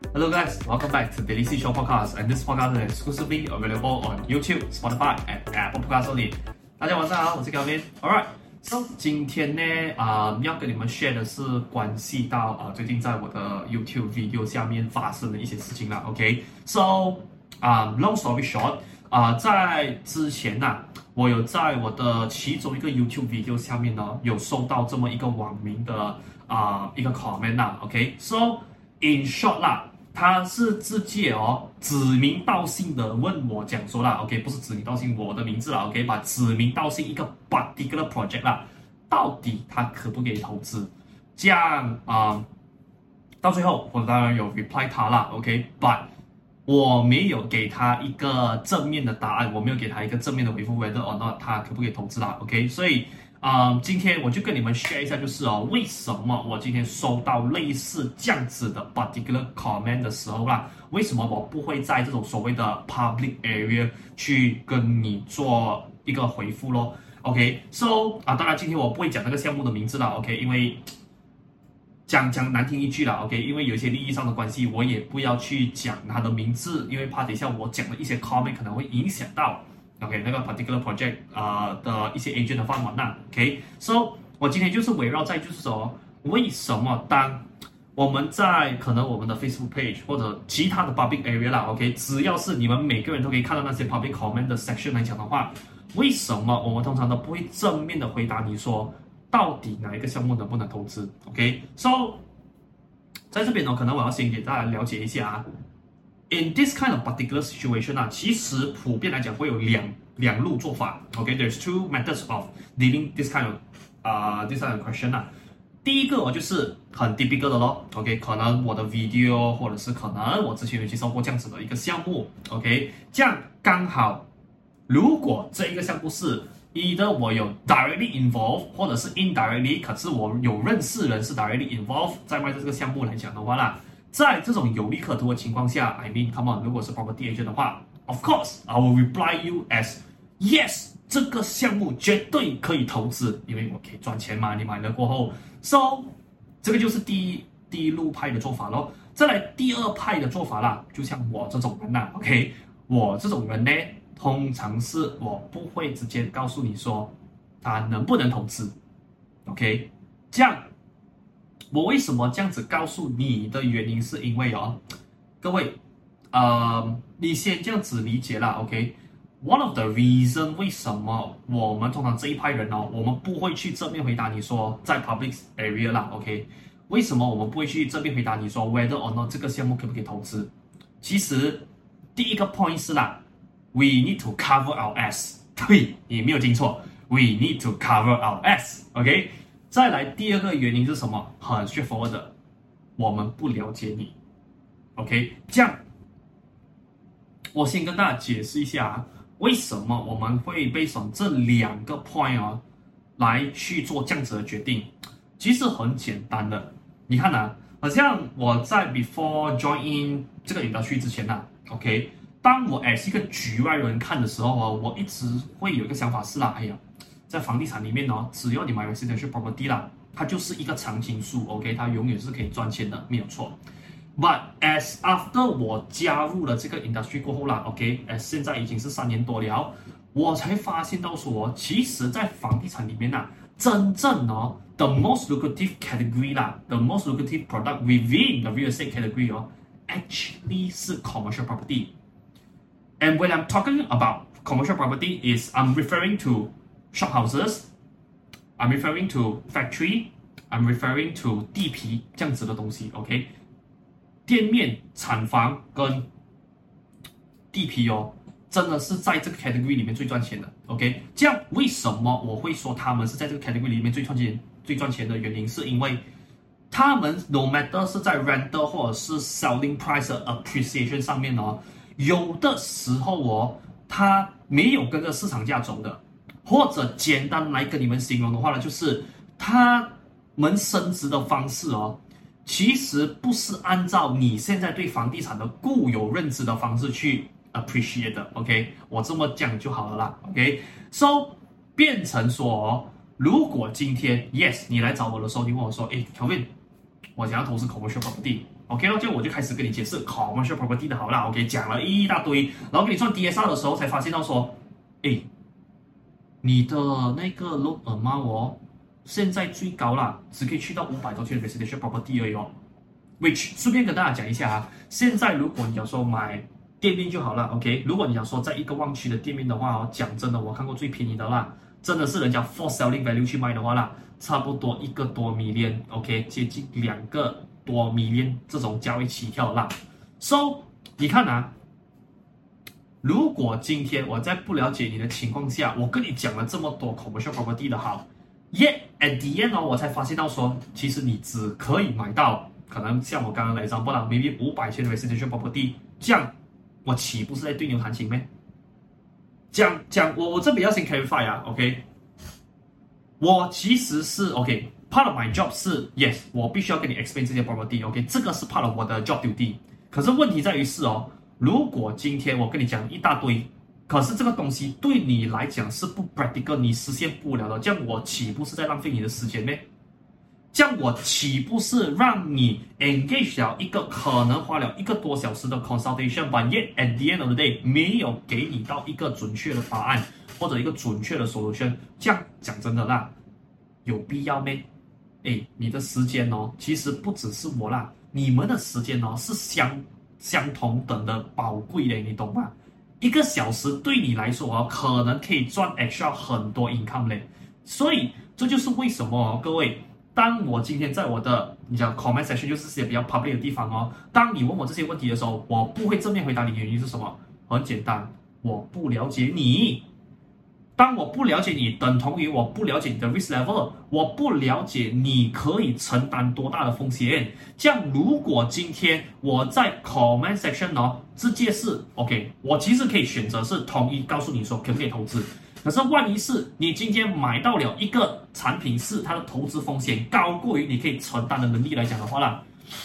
Hello guys, welcome back to Daily Seashore Podcast, and this podcast is exclusively available on YouTube, Spotify, and Apple Podcasts only. 大家晚上好，我是 Kelvin。Alright, so 今天呢，要跟你们 share 的是關係到最近在我的 YouTube video 下面發生的一些事情啦。OK, so long story short, 在之前呢，我有在我的其中一個 YouTube video 下面呢，有收到這麼一個網民的一個 comment 啦。OK, so in short 啦。他是直接指名道姓的問我講說啦 ，OK， 不是指名道姓我的名字啦 ，OK， 把指名道姓一個 particular project 啦，到底他可不可以投資？這樣到最後我當然有 reply 他啦 ，OK，but 我沒有給他一個正面的答案，我沒有給他一個正面的回復 ，whether or not 他可不可以投資啦 ，OK， 所以。今天我就跟你們 share 一下，就是為什麼我今天收到類似這樣子的 particular comment 的時候啦，為什麼我不會在這種所謂的 public area 去跟你做一個回復咯 ？OK，so 當然今天我不會講那個項目的名字啦 ，OK， 因為講難聽一句啦 ，OK， 因為有一些利益上的關係，我也不要去講他的名字，因為怕等一下我講的一些 comment 可能會影響到。OK， 那個 particular project 的一些 agent 的飯碗啦 ，OK，so 我今天就是圍繞在就是說，為什麼當我們在可能我們的 Facebook page 或者其他的 public area 啦 ，OK， 只要是你們每個人都可以看到那些 public comment 的 section 來講的話，為什麼我們通常都不會正面的回答你說，到底哪一個項目能不能投資 ？OK，so 在這邊呢，可能我要先給大家了解一下In this kind of particular situation 其實普遍來講會有兩路做法。OK，there's two methods of dealing this kind of question 第一個就是很 typical 的咯。OK， 可能我的 video 或者是可能我之前有介紹過這樣子的一個項目。OK， 這樣剛好，如果這一個項目是 either 我有 directly involved 或者是 indirectly， 可是我有認識人是 directly involved 在賣這個項目來講的話啦。在這種有利可圖的情況下 ，I mean, come on， 如果是 property agent 的話 ，of course, I will reply you as yes， 這個項目絕對可以投資，因為我可以賺錢嘛，你買了過後 ，so 這個就是第一路派的做法咯。再來第二派的做法啦，就像我這種人啦 ，OK， 我這種人呢，通常是我不會直接告訴你說他能不能投資 ，OK， 這樣。我為什麼這樣子告訴你的原因，是因為各位，你先這樣子理解啦 ，OK？One of the reason 為什麼我們通常這一派人我們不會去正面回答你說在 public area 啦 ，OK？ 為什麼我們不會去正面回答你說 whether or not 這個項目可不可以投資？其實第一個 point 是啦 ，we need to cover our ass， 對，你沒有聽錯 ，we need to cover our ass，OK？再來第二個原因是什麼？很 straightforward 的，我們不了解你 ，OK？ 這樣，我先跟大家解釋一下為什麼我們會based on這兩個 point 來去做這樣子的決定。其實很簡單的，你看好像我在 before join in 這個industry之前OK？ 當我as一個局外人看的時候我一直會有一個想法是啦，哎呀。在房地產裡面只要你買 residential property 啦，它就是一個常青樹 ，OK， 它永遠是可以賺錢的，沒有錯。But as after 我加入了這個 industry 過後啦 ，OK， 現在已經是3年多了，我才發現到說，其實在房地產裡面真正the most lucrative category 啦 ，the most lucrative product within the real estate category actually 是 commercial property。And when I'm talking about commercial property, I'm referring to shop houses, I'm referring to factory, I'm referring to 地皮這樣子的東西 ，OK？ 店面、廠房跟地皮真的是在這個 category 裡面最賺錢的 ，OK？ 這樣為什麼我會說他們是在這個 category 裡面最賺錢的原因，是因為他們 no matter 是在 rental 或者是 selling price 的 appreciation 上面有的時候它沒有跟着市場價走的。或者簡單來跟你們形容的話呢，就是他們升值的方式其實不是按照你現在對房地產的固有認知的方式去 appreciate 的 ，OK？ 我這麼講就好了啦 ，OK？So 變成說，如果今天 yes 你來找我的時候，你問我說，Kelvin，我想要投資 commercial property， OK 咯，就我就開始跟你解釋 commercial property 的好啦 ，OK 講了一大堆，然後給你算 DSR 的時候才發現到說，誒，你的那個 loan amount 哦，現在最高啦，只可以去到500多千的 residential property 而已哦。which 順便跟大家講一下啊，現在如果你想說買店面就好了 ，OK， 如果你想說在一個旺區的店面的話哦，講真的，我看過最便宜的啦，真的是人家 for selling value 去賣的話啦，差不多1個多 million，OK， 接近2個多 million 這種交易起跳啦。So 你看啊，如果今天我在不了解你的情況下，我跟你講了這麼多 commercial property 的好 ，yet at the end 哦，我才發現到說，其實你只可以買到可能像我剛剛來講不啦 ，maybe 500千的 residential property， 這樣我豈不是在對牛彈琴咩？講我這邊要先 clarify 啊 ，OK， 我其實是 OK。Part of my job 是 yes， 我必須要跟你 explain 這些 property，OK， 這個是 part of 我的 job duty。可是問題在於是哦，如果今天我跟你講一大堆，可是這個東西對你來講是不 practical， 你實現不了的，這樣我豈不是在浪費你的時間咩？這樣我豈不是讓你 engage 了一個可能花了1個多小時的 consultation，but yet at the end of the day 沒有給你到一個準確的答案或者一個準確的 solution， 這樣講真的啦，有必要咩？誒，你的時間哦，其實不只是我啦，你們的時間哦是相同等的寶貴的，你懂嗎？1個小時對你來說哦，可能可以賺 extra 很多 income 嘞。所以這就是為什麼哦，各位，當我今天在我的你講 comment section 就是些比較 public 的地方哦，當你問我這些問題的時候，我不會正面回答你的原因是什麼？很簡單，我不了解你。當我不了解你，等同於我不了解你的 risk level， 我不了解你可以承擔多大的風險。這樣，如果今天我在 comment section 哦，直接是 OK， 我其實可以選擇是統一告訴你說可不可以投資。可是萬一是你今天買到了一個產品，是它的投資風險高過於你可以承擔的能力來講的話啦，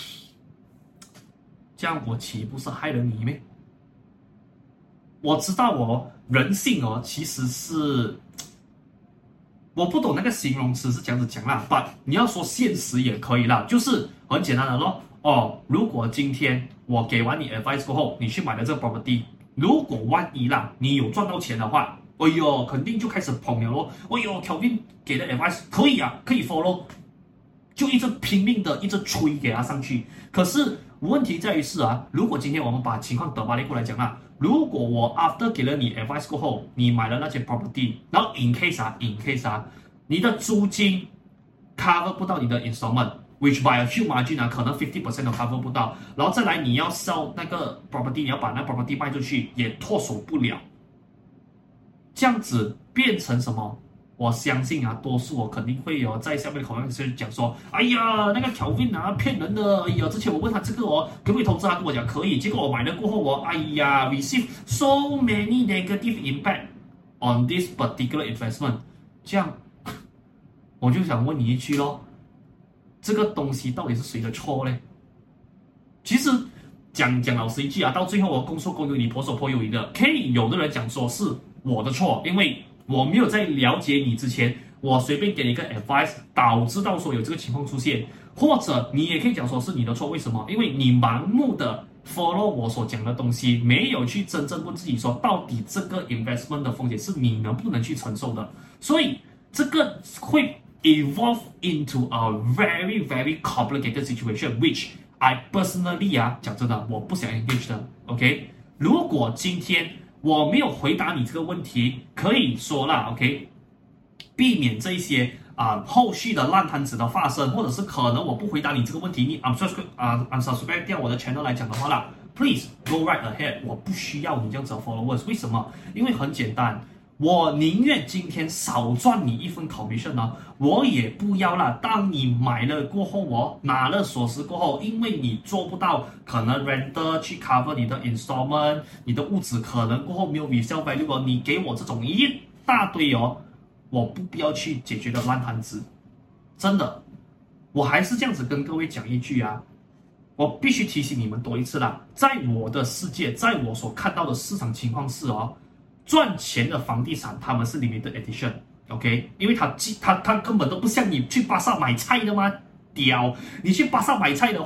這樣我豈不是害了你咩？我知道哦，人性哦，其實是我不懂那個形容詞是這樣子講啦，但你要說現實也可以啦，就是很簡單的咯。哦，如果今天我給完你 advice 過後，你去買了這個 property， 如果萬一啦，你有賺到錢的話，哎呦，肯定就開始捧了咯。哎呦 ，Kelvin 給的 advice 可以啊，可以 follow， 就一直拼命的一直吹給他上去。可是問題在於是啊，如果今天我們把情況倒過來講啦。如果我 after 給了你 advice 過後，你買了那些 property， 然後 in case 你的租金 cover 不到你的 installment，which by a few margin 啊，可能 50% 都 cover 不到，然後再來你要 sell 那個 property， 你要把那 property 賣出去，也脫手不了，這樣子變成什麼？我相信啊，多數我肯定會有在下面的 comment section 講說，哎呀，那個 Kelvin 啊，騙人的，哎呀，之前我問他這個哦，可不可以投資，他跟我講可以，結果我買了過後哦，哎呀 ，receive so many negative impact on this particular investment， 這樣，我就想問你一句咯，這個東西到底是誰的錯呢？其實講老實一句啊，到最後我公說公有理，婆說婆有理的，可以有的人講說是我的錯，因為我沒有在了解你之前，我隨便給你一個 advice， 導致到說有這個情況出現，或者你也可以講說是你的錯，為什麼？因為你盲目的 follow 我所講的東西，沒有去真正問自己說，到底這個 investment 的風險是你能不能去承受的，所以這個會 evolve into a very very complicated situation，which I personally 啊，講真的，我不想 engage 的 ，OK？ 如果今天我沒有回答你這個問題，可以說啦 ，OK， 避免這些後續的爛攤子的發生，或者是可能我不回答你這個問題，你unsubscribe 掉我的 channel 來講的話啦 ，please go right ahead， 我不需要你這樣子的 followers， 為什麼？因為很簡單，我寧願今天少賺你一份 commission 呢，我也不要啦。當你買了過後，我拿了鎖匙過後，因為你做不到可能 renter 去 cover 你的 installment， 你的屋子可能過後沒有 resale value， 你給我這種一大堆哦，我不必要去解決的爛攤子。真的，我還是這樣子跟各位講一句啊，我必須提醒你們多一次啦，在我的世界，在我所看到的市場情況是哦，賺錢的房地產他們是 limited edition。OK， 因為他根本都不像你去巴剎買菜的嘛，屌！你去巴剎買菜的話，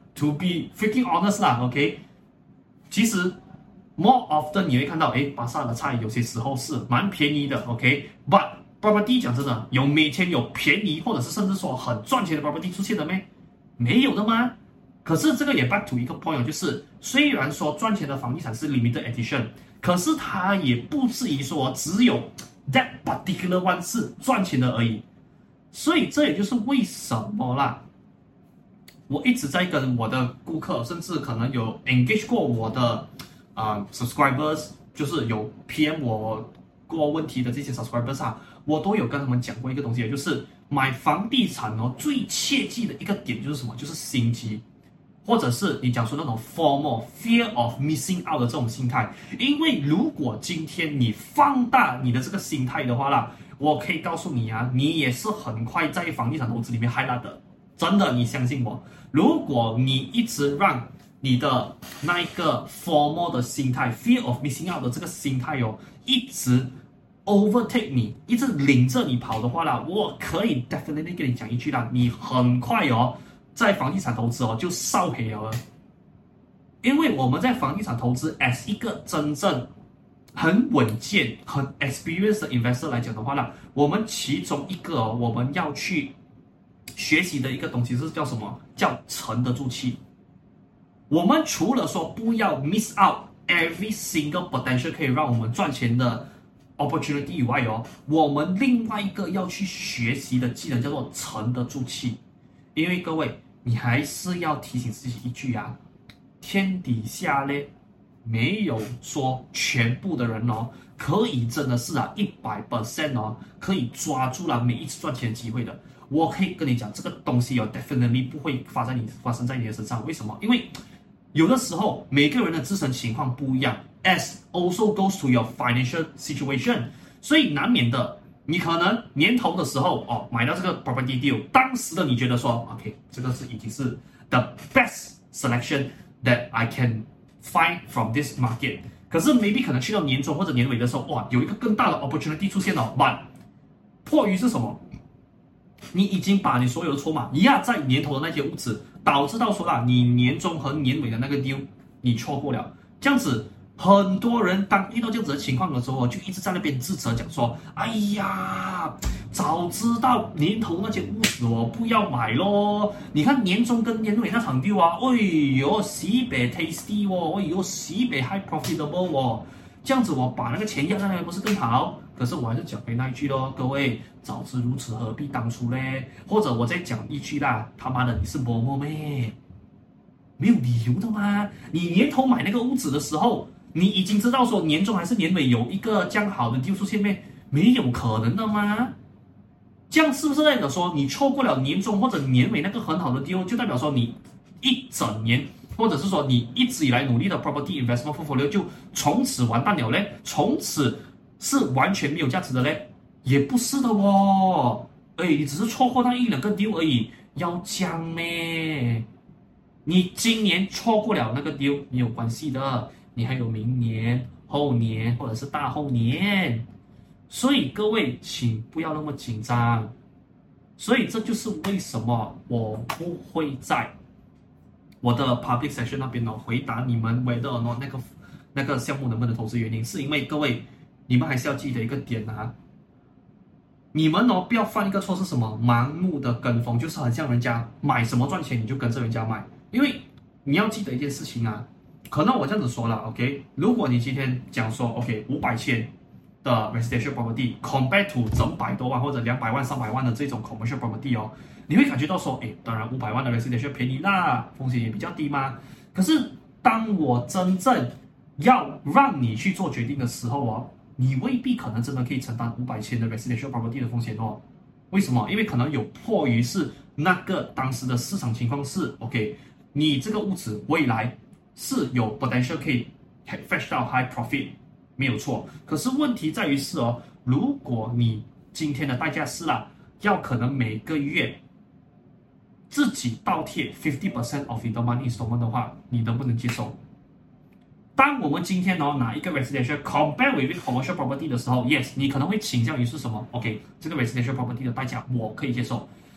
to be freaking honest 啦 ，OK， 其實 more often 你會看到，巴剎的菜有些時候是蠻便宜的 ，OK，but property 講真的，有每天有便宜或者是甚至說很賺錢的 property 出現的咩？沒有的嗎？可是這個也 back to 一個 point， 就是雖然說賺錢的房地產是 limited edition， 可是它也不至於說只有 that particular one 是賺錢的而已。所以這也就是為什麼啦，我一直在跟我的顧客，甚至可能有 engage 過我的subscribers， 就是有 PM 我過問題的這些 subscribers 啊，我都有跟他們講過一個東西，也就是買房地產哦，最切記的一個點就是什麼？就是心機。或者是你講說那種 FOMO fear of missing out 的這種心態，因為如果今天你放大你的這個心態的話啦，我可以告訴你啊，你也是很快在房地產投資裡面嗨爛的，真的，你相信我。如果你一直讓你的那一個 FOMO 的心態 fear of missing out 的這個心態哦，一直 overtake 你，一直領着你跑的話啦，我可以 definitely 跟你講一句啦，你很快哦。在房地產投資哦，就燒賠了，因為我們在房地產投資 as 一個真正很穩健、很 experienced 的 investor 來講的話呢，我們其中一個我們要去學習的一個東西是叫什麼？叫沉得住氣。我們除了說不要 miss out every single potential 可以讓我們賺錢的 opportunity 以外哦，我們另外一個要去學習的技能叫做沉得住氣。因為各位，你還是要提醒自己一句啊，天底下呢，沒有說全部的人哦，可以真的是100% 哦，可以抓住了每一次賺錢的機會的。我可以跟你講，這個東西哦 ，definitely 不會發生在你的身上。為什麼？因為有的時候每個人的自身情況不一樣 ，as also goes to your financial situation， 所以難免的。你可能年頭的時候哦，買到這個 property deal， 當時的你覺得說 ，OK， 這個是已經是 the best selection that I can find from this market。可是 maybe 可能去到年中或者年尾的時候，哇，有一個更大的 opportunity 出現了 ，but 迫於是什麼？你已經把你所有的籌碼壓在年頭的那些屋子，導致到說啦，你年中和年尾的那個 deal 你錯過了，這樣子。很多人當遇到這樣子的情況的時候，就一直在那邊自責，講說：“哎呀，早知道年頭那間屋子我不要買咯！你看年中跟年尾那場 deal啊，哎呦，西北 tasty 哦，哎呦，西北 high profitable 哦，這樣子我把那個錢壓在那邊不是更好？可是我還是講回那一句咯，各位，早知如此何必當初嘞？或者我再講一句啦，他媽的，你是某某咩？沒有理由的嗎？你年頭買那個屋子的時候。”你已經知道說年中還是年尾有一個這樣好的 deal 出現咩？沒有可能的嗎？這樣是不是代表說你錯過了年中或者年尾那個很好的 deal，就代表說你一整年或者是說你一直以來努力的 property investment portfolio 就從此完蛋了嘞？從此是完全沒有價值的嘞？也不是的哦，你只是錯過那一兩個 deal 而已，要講咩？你今年錯過了那個 deal 沒有關係的。你還有明年、後年或者是大後年，所以各位請不要那麼緊張。所以這就是為什麼我不會在我的 public session 那邊回答你們 whether or not 那個項目能不能投資原因，是因為各位你們還是要記得一個點啊，你們不要犯一個錯是什麼？盲目的跟風，就是很像人家買什麼賺錢你就跟着人家買，因為你要記得一件事情啊。可能我這樣子說了 ，OK， 如果你今天講說 ，OK， 500千的 residential property compared to 整百多萬或者200萬、300萬的這種 commercial property 哦，你會感覺到說，當然500萬的 residential 便宜啦，風險也比較低嘛。可是當我真正要讓你去做決定的時候哦，你未必可能真的可以承擔500千的 residential property 的風險哦。為什麼？因為可能有迫於是那個當時的市場情況是 ，OK， 你這個屋子未來。是有 potential 可以 fetch 到 high profit， 沒有錯。可是問題在於是如果你今天的代價是要可能每個月自己倒貼 50% of the money installment 的話，你能不能接受？當我們今天拿一個 residential compare with commercial property 的時候 ，yes， 你可能會傾向於是什麼 ？OK， 這個 residential property 的代價我可以接受。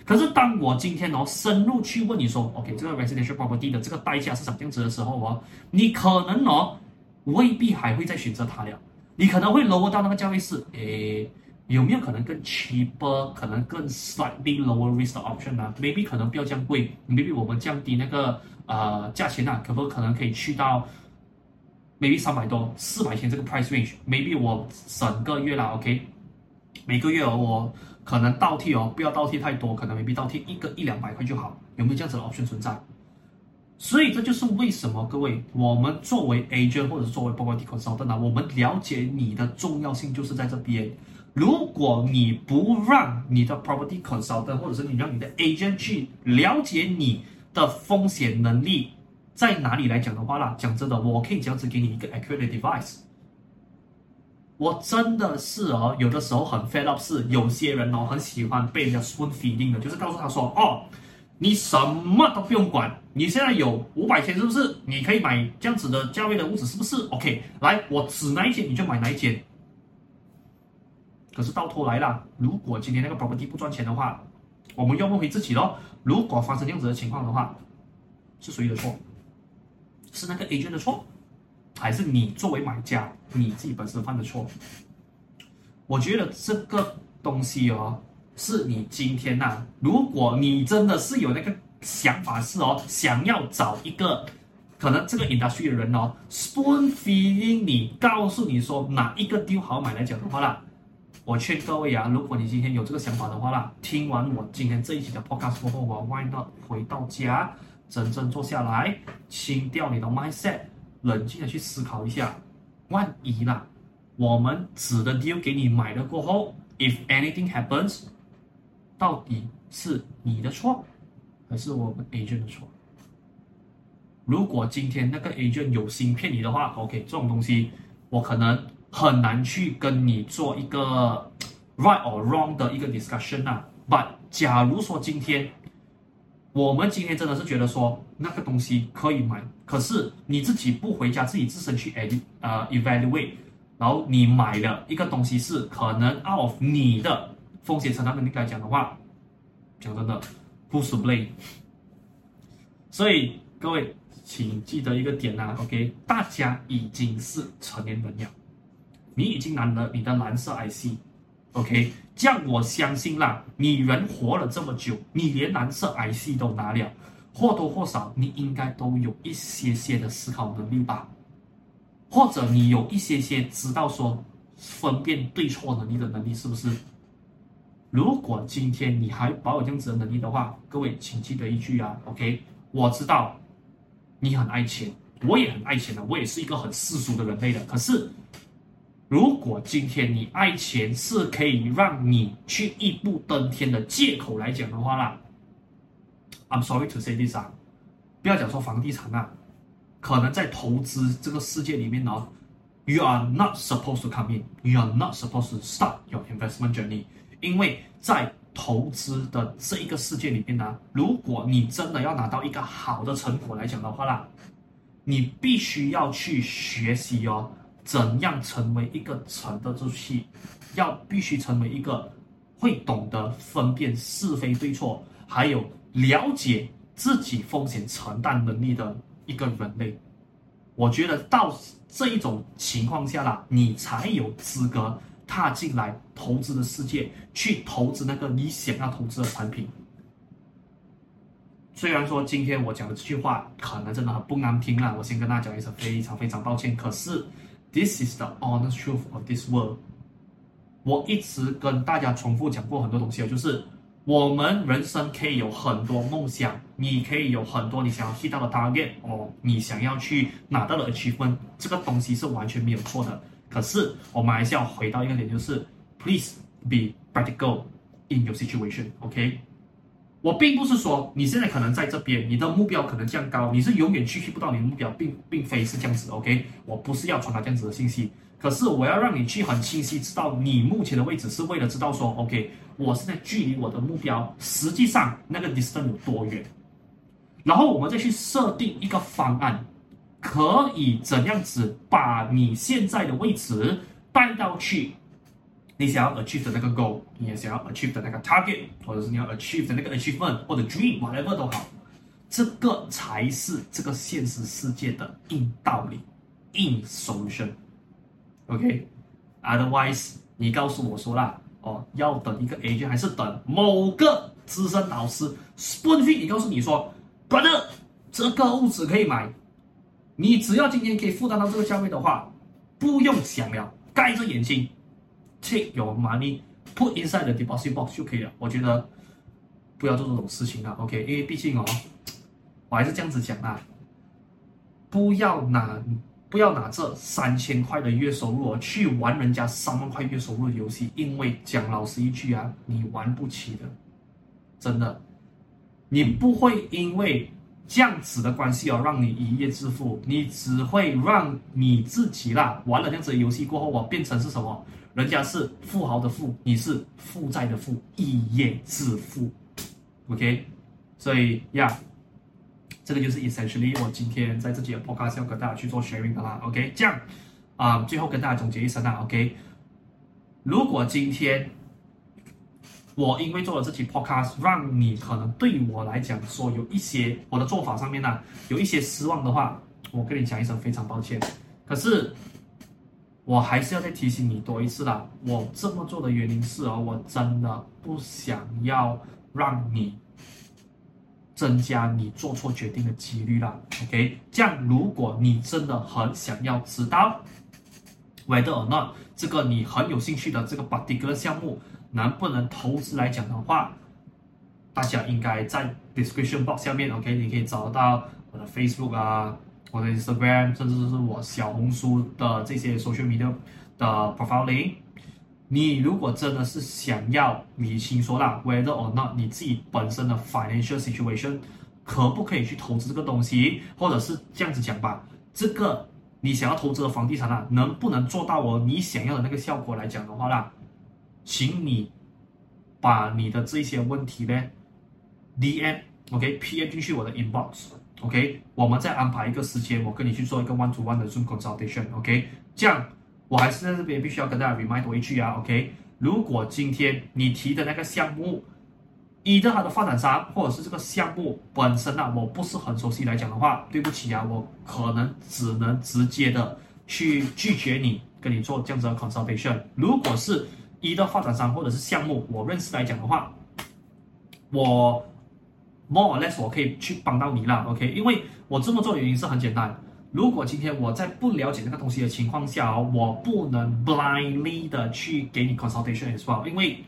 可是當我今天深入去問你說 ，OK， 這個 residential property 的這個代價是什麼樣子的時候你可能未必還會再選擇它了，你可能會 lower 到那個價位是，有沒有可能更 cheaper， 可能更 slightly lower risk 的 option 呢 ？Maybe 可能不要這樣貴 ，maybe 我們降低那個價錢可能可以去到 maybe 300多、400千這個 price range，maybe 我整個月啦 ，OK， 每個月我可能倒貼不要倒貼太多，可能 maybe 倒貼100-200塊就好，有沒有這樣子的 option 存在？所以這就是為什麼各位，我們作為 agent 或者是作為 property consultant 我們了解你的重要性就是在這邊。如果你不讓你的 property consultant 或者是你讓你的 agent 去了解你的風險能力在哪裡來講的話啦，講真的，我可以這樣子給你一個 accurate advice。我真的是有的時候很 fed up， 是有些人很喜歡被人家 spoon feeding 的，就是告訴他說你什麼都不用管，你現在有500千是不是？你可以買這樣子的價位的屋子是不是 ？OK， 來，我指哪一間你就買哪一間。可是到頭來啦，如果今天那個 property 不賺錢的話，我們要問回自己咯。如果發生這樣子的情況的話，是誰的錯？是那個 agent 的錯，還是你作為買家你自己本身犯的錯？我覺得這個東西是你今天如果你真的是有那個想法是想要找一個可能這個 industry 的人spoon feeding 你，告訴你說哪一個 deal 好買來講的話啦，我勸各位如果你今天有這個想法的話啦，聽完我今天這一期的 podcast 過後，why not 回到家，真正坐下來，清掉你的 mindset， 冷靜的去思考一下，萬一啦，我們指的 deal 給你買了過後 ，if anything happens， 到底是你的錯，還是我們 agent 的錯？如果今天那個 agent 有心騙你的話 ，OK， 這種東西我可能很難去跟你做一個 right or wrong 的一個 discussion But 假如說我們今天真的是覺得說那個東西可以買，可是你自己不回家自己自身去evaluate， 然後你買了一個東西是可能 out of 你的風險承擔能力來講的話，講真的 ，who's to blame？ 所以各位請記得一個點OK， 大家已經是成年人了，你已經拿了你的藍色 IC。OK， 這樣我相信啦，你人活了這麼久，你連藍色 IC 都拿了，或多或少你應該都有一些的思考能力吧，或者你有一些知道說分辨对錯能力的能力，是不是？如果今天你還保有這樣子的能力的話，各位請記得一句OK， 我知道你很愛錢，我也很愛錢的，我也是一個很世俗的人類的，可是如果今天你愛錢是可以讓你去一步登天的借口來講的話啦 ，I'm sorry to say this 不要講說房地產可能在投資這個世界裡面you are not supposed to come in， you are not supposed to start your investment journey， 因為在投資的這一個世界裡面如果你真的要拿到一個好的成果來講的話啦，你必須要去學習怎樣成為一個沉得住氣，必須成為一個會懂得分辨是非對錯，還有了解自己風險承擔能力的一個人類。我覺得到這一種情況下啦，你才有資格踏進來投資的世界，去投資那個你想要投資的產品。雖然說今天我講的這句話可能真的很不難聽啦，我先跟大家講一聲非常非常抱歉，可是This is the honest truth of this world。我一直跟大家重複講過很多東西就是我們人生可以有很多夢想，你可以有很多你想要去到的 target， 你想要去拿到的 achievement， 這個東西是完全沒有錯的。可是我們還是要回到一個點，就是 Please be practical in your situation，OK？我並不是說你現在可能在這邊，你的目標可能這樣高，你是永遠去不到你的目標，並非是這樣子 ，OK？ 我不是要傳達這樣子的信息，可是我要讓你去很清晰知道你目前的位置，是為了知道說 ，OK， 我現在距離我的目標實際上那個 distance 有多遠，然後我們再去設定一個方案，可以怎樣子把你現在的位置帶到去你想要 achieve 的那個 goal， 你也想要 achieve 的那個 target， 或者是你要 achieve 的那個 achievement 或者 dream whatever 都好，這個才是這個現實世界的硬道理，硬 solution。OK，otherwise 你告訴我說啦，要等一個 agent 還是等某個資深導師 spoon feed 你告訴你說 ，brother， 這個屋子可以買，你只要今天可以負擔到這個價位的話，不用想了，蓋着眼睛 take your money put inside the deposit box 就可以了。我覺得不要做這種事情了 ，OK， 因為畢竟我還是這樣子講啦，不要拿這3000塊的月收入去玩人家3萬塊月收入的遊戲，因為講老實一句啊，你玩不起的，真的，你不會因為這樣子的關係讓你一夜致富，你只會讓你自己啦玩了這樣子的遊戲過後變成是什麼？人家是富豪的富，你是負債的富，一夜致富 ，OK， 所以呀。這個就是 essentially 我今天在自己的 podcast 要跟大家去做 sharing 的啦 ，OK， 這樣最後跟大家總結一聲啦 ，OK， 如果今天我因為做了這期 podcast， 讓你可能對我來講說有一些我的做法上面有一些失望的話，我跟你講一聲非常抱歉。可是我還是要再提醒你多一次啦，我這麼做的原因是我真的不想要讓你增加你做錯決定的幾率啦 ，OK？ 這樣，如果你真的很想要知道 whether or not 這個你很有興趣的這個 particular 項目能不能投資來講的話，大家應該在 description box 下面 ，OK？ 你可以找到我的 Facebook 我的 Instagram， 甚至是我小紅書的這些 social media 的 profile link。你如果真的是想要理清說啦 whether or not 你自己本身的 financial situation 可不可以去投資這個東西，或者是這樣子講吧，這個你想要投資的房地產能不能做到你想要的那個效果來講的話啦，請你把你的這些問題呢 DM OK PM 進去我的 inbox OK， 我們再安排一個時間，我跟你去做一個 one to one 的 Zoom consultation OK， 這樣。我還是在這邊必須要跟大家 remind 多一句，OK？ 如果今天你提的那個項目，either它的發展商或者是這個項目本身我不是很熟悉來講的話，對不起我可能只能直接的去拒絕你，跟你做這樣子的 consultation。如果是either發展商或者是項目我認識來講的話，我 more or less 我可以去幫到你啦 ，OK？ 因為我這麼做的原因是很簡單。如果今天我在不了解那個東西的情況下我不能 blindly 的去給你 consultation as well， 因為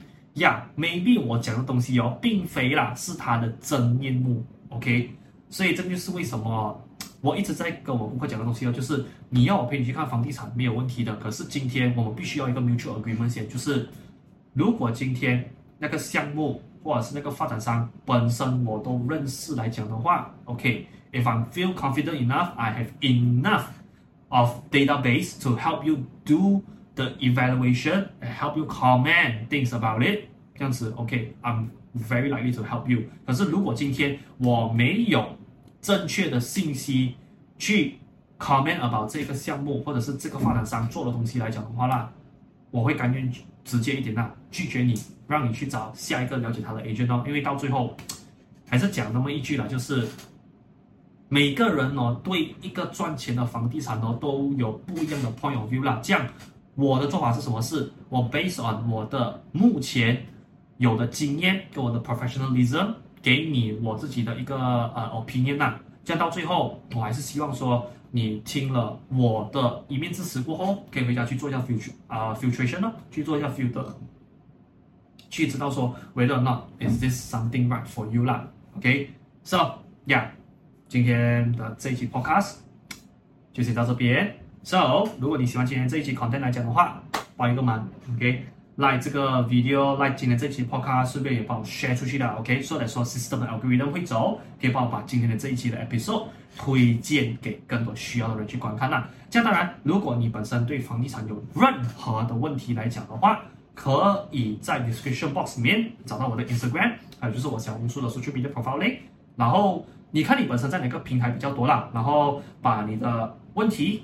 maybe 我講的東西並非是它的真面目 ，OK？ 所以這就是為什麼我一直在跟我顧客講的東西就是你要我陪你去看房地產沒有問題的，可是今天我們必須要一個 mutual agreement 先，就是如果今天那個項目或者是那個發展商本身我都認識來講的話 ，OK？If I feel confident enough, I have enough of database to help you do the evaluation and help you comment things about it. 這樣子 ，OK, I'm very likely to help you. 可是如果今天我沒有正確的信息去 comment about 這個項目或者是這個發展商做的東西來講的話啦，我會甘願直接一點拒絕你，讓你去找下一個了解他的 agent 因為到最後還是講那麼一句啦，就是。每個人對一個賺錢的房地產都有不一樣的 point of view 啦。這樣我的做法是什麼？是我 based on 我的目前有的經驗跟我的 professionalism 給你我自己的一個opinion 啦。這樣到最後我還是希望說你聽了我的一面之詞過後，可以回家去做一下 filtration 去做一下 filter， 去知道說 whether or not is this something right for you 啦。OK， so yeah。今天的這一期 podcast 就先到這邊。So， 如果你喜歡今天這一期 content 來講的話，幫一個忙 ，OK，like 這個 video，like 今天這一期 podcast，順便也幫我 share 出去的 ，OK，so that 說 system 的 algorithm 會走，可以幫我把今天的這一期的 episode 推薦給更多需要的人去觀看啦。這樣當然，如果你本身對房地產有任何的問題來講的話，可以在 description box 裡面找到我的 Instagram， 還有就是我小紅書的 social media profile link， 然後。你看你本身在哪個平台比較多啦，然後把你的問題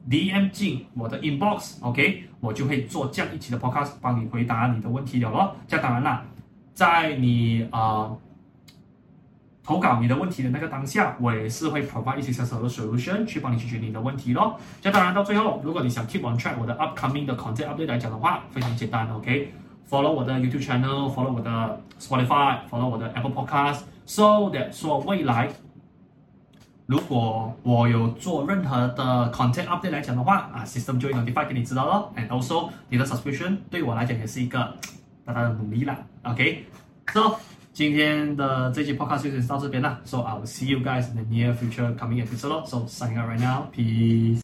DM 進我的 inbox，OK， 我就會做這樣一期的 podcast 幫你回答你的問題了咯。這樣當然啦，在你投稿你的問題的那個當下，我也是會 provide 一些小小的 solution 去幫你解決你的問題咯。這樣當然到最後，如果你想 keep on track 我的 upcoming 的 content update 來講的話，非常簡單 ，OK，follow 我的 YouTube channel，follow 我的 Spotify，follow 我的 Apple Podcast，so that 說未來如果我有做任何的 content update 來講的話，system 就會 notify 給你知道咯。And also 你的 subscription 對我來講也是一個大大的努力啦。OK，so 今天的這期 podcast 就到這邊啦。So I will see you guys in the near future coming episode. So signing out right now. Peace.